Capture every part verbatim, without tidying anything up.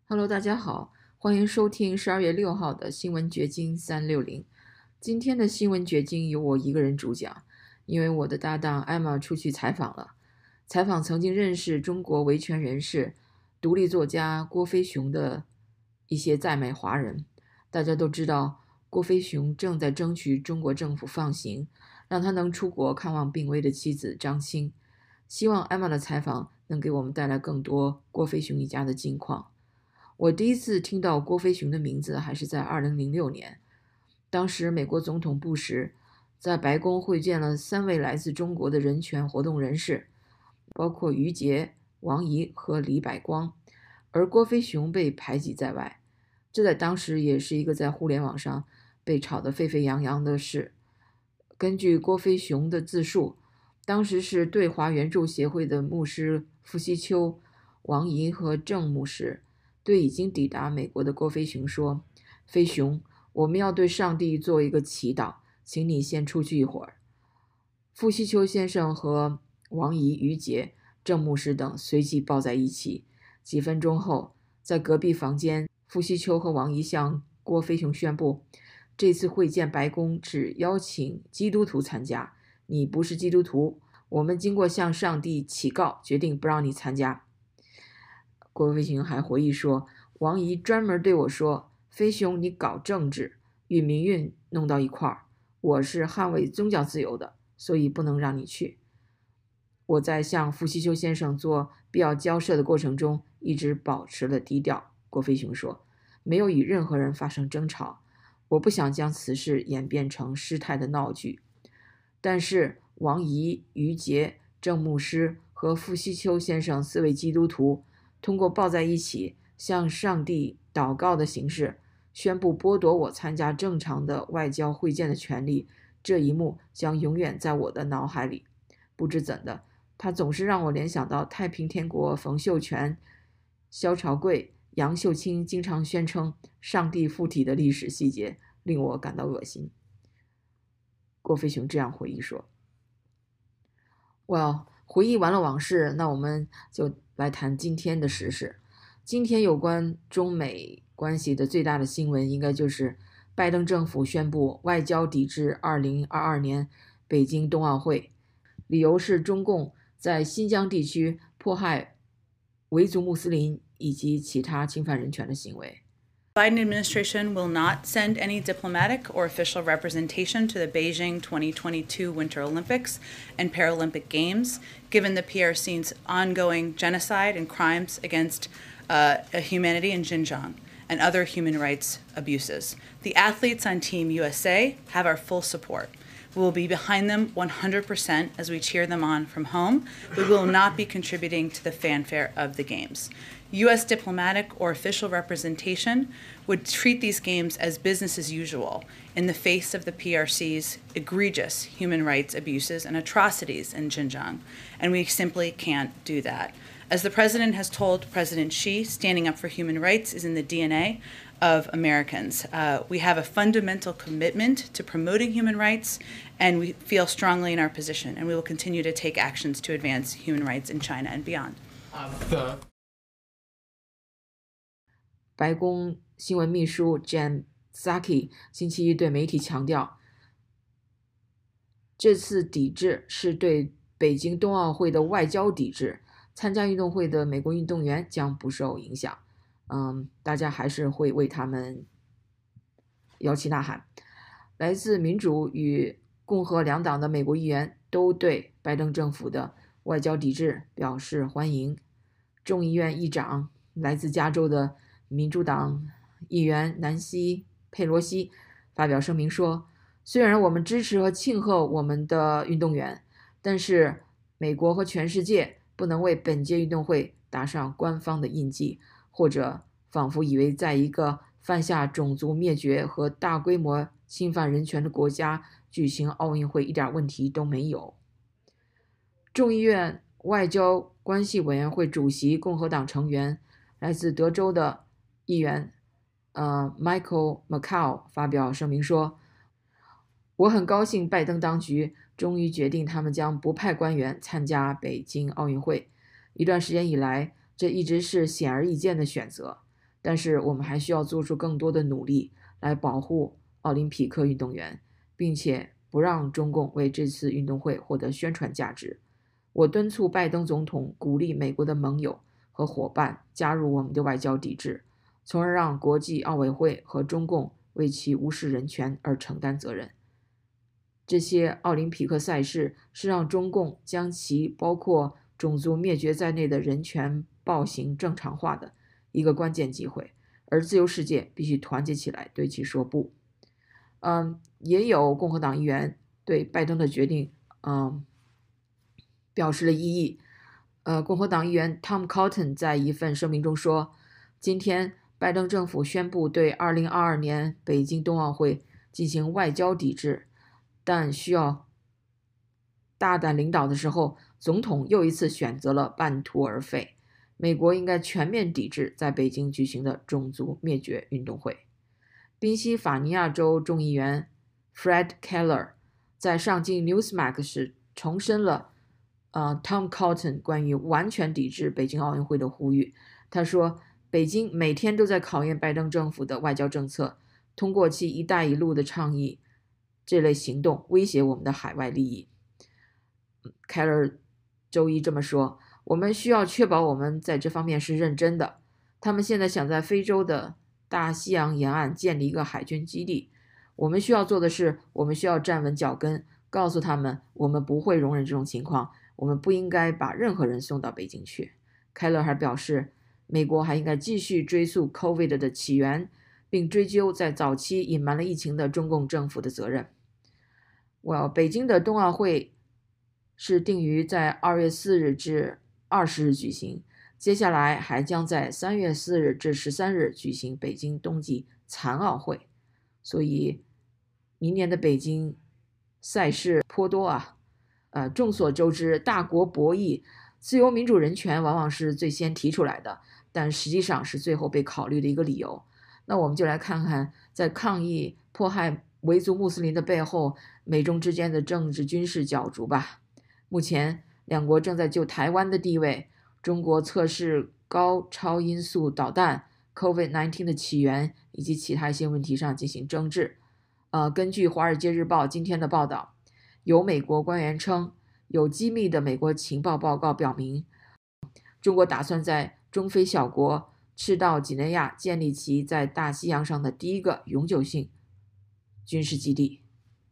Hello，大家好，欢迎收听十二月六号的新闻掘金三六零。今天的新闻掘金由我一个人主讲，因为我的搭档艾玛出去采访了，采访曾经认识中国维权人士、独立作家郭飞雄的一些在美华人。大家都知道，郭飞雄正在争取中国政府放行，让他能出国看望病危的妻子张青。希望艾玛的采访能给我们带来更多郭飞雄一家的近况。我第一次听到郭飞雄的名字还是在二零零六年，当时美国总统布什在白宫会见了三位来自中国的人权活动人士，包括于杰、王怡和李百光，而郭飞雄被排挤在外，这在当时也是一个在互联网上被炒得沸沸扬扬的事。根据郭飞雄的自述，当时是对华援助协会的牧师傅西秋、王怡和郑牧师对已经抵达美国的郭飞雄说：“飞雄，我们要对上帝做一个祈祷，请你先出去一会儿。”傅西秋先生和王怡、于杰、郑牧师等随即抱在一起。几分钟后，在隔壁房间，傅西秋和王怡向郭飞雄宣布，这次会见白宫只邀请基督徒参加，你不是基督徒，我们经过向上帝祈告，决定不让你参加。郭飞雄还回忆说，王怡专门对我说，飞雄你搞政治与民运弄到一块儿，我是捍卫宗教自由的，所以不能让你去。我在向傅西秋先生做必要交涉的过程中一直保持了低调。郭飞雄说，没有与任何人发生争吵，我不想将此事演变成失态的闹剧。但是王怡、于杰、郑牧师和傅西秋先生四位基督徒通过抱在一起向上帝祷告的形式宣布剥夺我参加正常的外交会见的权利，这一幕将永远在我的脑海里。不知怎的，它总是让我联想到太平天国冯秀全、萧朝贵、杨秀清经常宣称上帝附体的历史细节，令我感到恶心。郭飞雄这样回忆说。Well， 回忆完了往事，那我们就来谈今天的时事。今天有关中美关系的最大的新闻，应该就是拜登政府宣布外交抵制二零二二年北京冬奥会，理由是中共在新疆地区迫害维族穆斯林以及其他侵犯人权的行为。 Biden administration will not send any diplomatic or official representation to the Beijing twenty twenty-two Winter Olympics and Paralympic Games, given the P R C's ongoing genocide and crimes against uh, humanity in Xinjiang and other human rights abuses. The athletes on Team U S A have our full support. We will be behind them one hundred percent as we cheer them on from home. We will not be contributing to the fanfare of the Games. U S diplomatic or official representation would treat these games as business as usual in the face of the P R C's egregious human rights abuses and atrocities in Xinjiang, and we simply can't do that. As the president has told President Xi, standing up for human rights is in the D N A of Americans. Uh, we have a fundamental commitment to promoting human rights, and we feel strongly in our position, and we will continue to take actions to advance human rights in China and beyond. Uh, the 白宫新闻秘书 Jen Psaki 星期一对媒体强调，这次抵制是对北京冬奥会的外交抵制，参加运动会的美国运动员将不受影响。嗯，大家还是会为他们摇旗呐喊。来自民主与共和两党的美国议员都对拜登政府的外交抵制表示欢迎。众议院议长来自加州的民主党议员南希·佩罗西发表声明说，虽然我们支持和庆贺我们的运动员，但是美国和全世界不能为本届运动会打上官方的印记，或者仿佛以为在一个犯下种族灭绝和大规模侵犯人权的国家举行奥运会一点问题都没有。众议院外交关系委员会主席共和党成员来自德州的议员呃 Michael McCaul 发表声明说，我很高兴拜登当局终于决定他们将不派官员参加北京奥运会。一段时间以来，这一直是显而易见的选择。 但是我们还需要做出更多的努力来保护奥林匹克运动员，并且不让中共为这次运动会获得宣传价值。我敦促拜登总统鼓励美国的盟友和伙伴加入我们的外交抵制，从而让国际奥委会和中共为其无视人权而承担责任。这些奥林匹克赛事是让中共将其包括种族灭绝在内的人权暴行正常化的一个关键机会，而自由世界必须团结起来对其说不。嗯，也有共和党议员对拜登的决定嗯表示了异议。呃，共和党议员 Tom Cotton 在一份声明中说，今天拜登政府宣布对二零二二年北京冬奥会进行外交抵制，但需要大胆领导的时候，总统又一次选择了半途而废。美国应该全面抵制在北京举行的种族灭绝运动会。宾夕法尼亚州众议员 Fred Keller 在上镜 Newsmax 时重申了呃 Tom Cotton 关于完全抵制北京奥运会的呼吁。他说，北京每天都在考验拜登政府的外交政策，通过其一带一路的倡议这类行动威胁我们的海外利益。Keller 周一这么说，我们需要确保我们在这方面是认真的。他们现在想在非洲的大西洋沿岸建立一个海军基地。我们需要做的是，我们需要站稳脚跟，告诉他们我们不会容忍这种情况，我们不应该把任何人送到北京去。凯勒还表示，美国还应该继续追溯 COVID 的起源，并追究在早期隐瞒了疫情的中共政府的责任。well, 北京的冬奥会是定于在二月四日至二十日举行，接下来还将在三月四日至十三日举行北京冬季残奥会，所以明年的北京赛事颇多啊。呃，众所周知，大国博弈，自由民主人权往往是最先提出来的，但实际上是最后被考虑的一个理由。那我们就来看看，在抗议迫害维族穆斯林的背后，美中之间的政治军事角逐吧。目前两国正在就台湾的地位、中国测试高超音速导弹、COVID 十九 的起源以及其他一些问题上进行争执。呃，根据《华尔街日报》今天的报道，有美国官员称，有机密的美国情报报告表明，中国打算在中非小国赤道几内亚建立其在大西洋上的第一个永久性军事基地。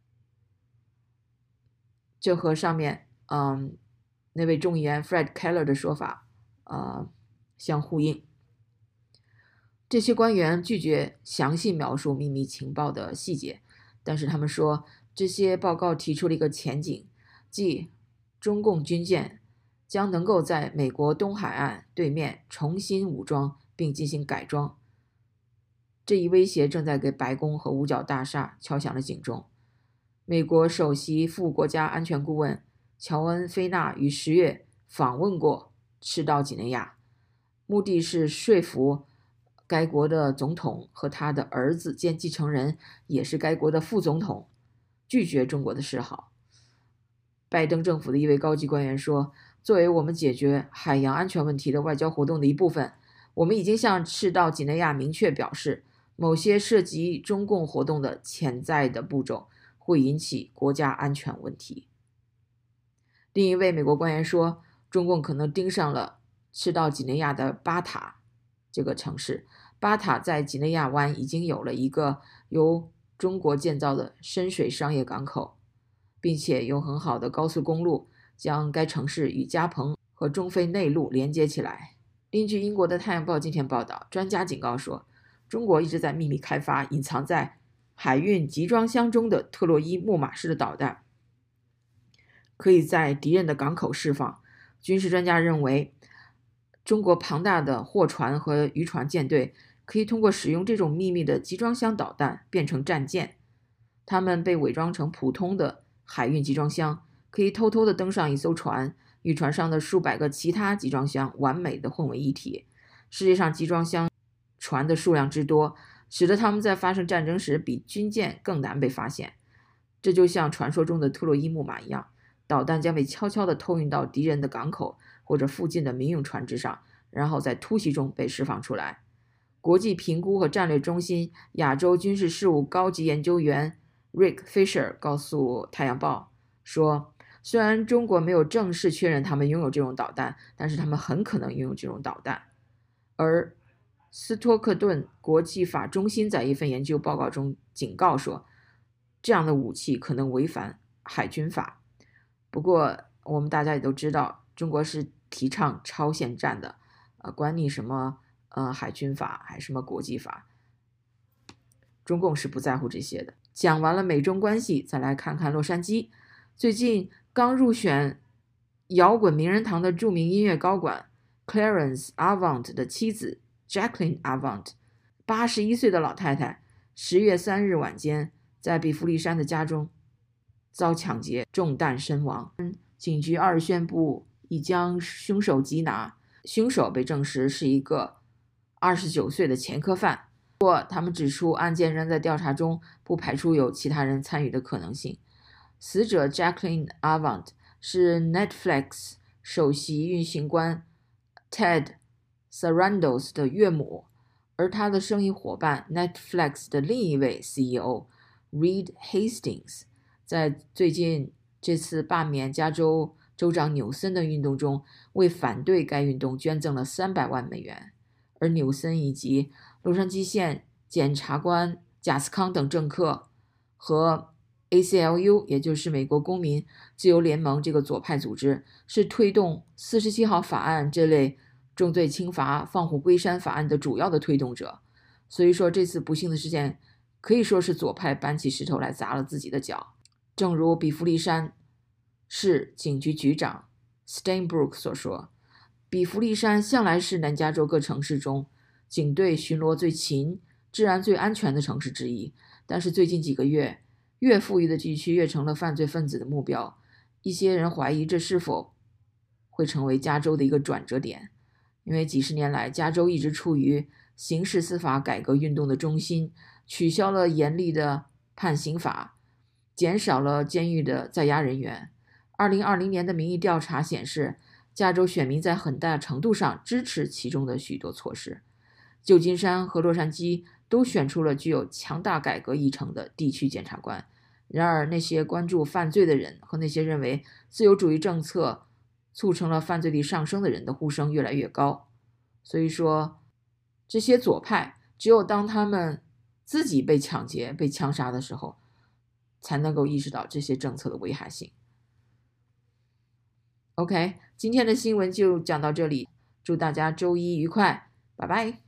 这和上面嗯那位众议员 Fred Keller 的说法呃相呼应。这些官员拒绝详细描述秘密情报的细节，但是他们说，这些报告提出了一个前景，即中共军舰将能够在美国东海岸对面重新武装并进行改装。这一威胁正在给白宫和五角大厦敲响了警钟。美国首席副国家安全顾问乔恩·菲纳于十月访问过赤道几内亚，目的是说服该国的总统和他的儿子兼继承人，也是该国的副总统，拒绝中国的示好。拜登政府的一位高级官员说，作为我们解决海洋安全问题的外交活动的一部分，我们已经向赤道几内亚明确表示，某些涉及中共活动的潜在的步骤会引起国家安全问题。另一位美国官员说，中共可能盯上了赤道几内亚的巴塔这个城市。巴塔在几内亚湾已经有了一个由中国建造的深水商业港口，并且有很好的高速公路将该城市与加蓬和中非内陆连接起来。根据英国的《太阳报》今天报道，专家警告说，中国一直在秘密开发隐藏在海运集装箱中的特洛伊木马式的导弹，可以在敌人的港口释放。军事专家认为，中国庞大的货船和渔船舰队可以通过使用这种秘密的集装箱导弹变成战舰，它们被伪装成普通的海运集装箱，可以偷偷地登上一艘船，与船上的数百个其他集装箱完美地混为一体。世界上集装箱船的数量之多，使得他们在发生战争时比军舰更难被发现。这就像传说中的特洛伊木马一样，导弹将被悄悄地偷运到敌人的港口或者附近的民用船只上，然后在突袭中被释放出来。 国际评估和战略中心亚洲军事事务高级研究员 Rick Fisher 告诉《太阳报》说，虽然中国没有正式确认他们拥有这种导弹，但是他们很可能拥有这种导弹。而斯托克顿国际法中心在一份研究报告中警告说，这样的武器可能违反海军法。不过我们大家也都知道，中国是提倡超限战的，呃，管你什么呃海军法还是什么国际法，中共是不在乎这些的。讲完了美中关系，再来看看洛杉矶。最近刚入选摇滚名人堂的著名音乐高管 Clarence Avant 的妻子 Jacqueline Avant， 八十一岁的老太太，十月三日晚间在比弗利山的家中遭抢劫，中弹身亡。警局二日宣布已将凶手缉拿，凶手被证实是一个二十九岁的前科犯。不过他们指出，案件仍在调查中，不排除有其他人参与的可能性。死者 Jacqueline Avant 是 Netflix 首席运行官 Ted Sarandos 的岳母，而他的生意伙伴 Netflix 的另一位 C E O Reed Hastings 在最近这次罢免加州州长纽森的运动中，为反对该运动捐赠了三百万美元。而纽森以及洛杉矶县检察官贾斯康等政客和 A C L U， 也就是美国公民自由联盟这个左派组织，是推动四十七号法案这类重罪轻罚放虎归山法案的主要的推动者。所以说这次不幸的事件可以说是左派搬起石头来砸了自己的脚。正如比弗利山市警局局长 Steinbrook 所说，比弗利山向来是南加州各城市中警队巡逻最勤、治安最安全的城市之一。但是最近几个月，越富裕的地区越成了犯罪分子的目标。一些人怀疑这是否会成为加州的一个转折点，因为几十年来，加州一直处于刑事司法改革运动的中心，取消了严厉的判刑法，减少了监狱的在押人员。二零二零年的民意调查显示，加州选民在很大程度上支持其中的许多措施。旧金山和洛杉矶都选出了具有强大改革议程的地区检察官。然而，那些关注犯罪的人和那些认为自由主义政策促成了犯罪率上升的人的呼声越来越高。所以说，这些左派只有当他们自己被抢劫、被枪杀的时候，才能够意识到这些政策的危害性。OK， 今天的新闻就讲到这里，祝大家周一愉快，拜拜。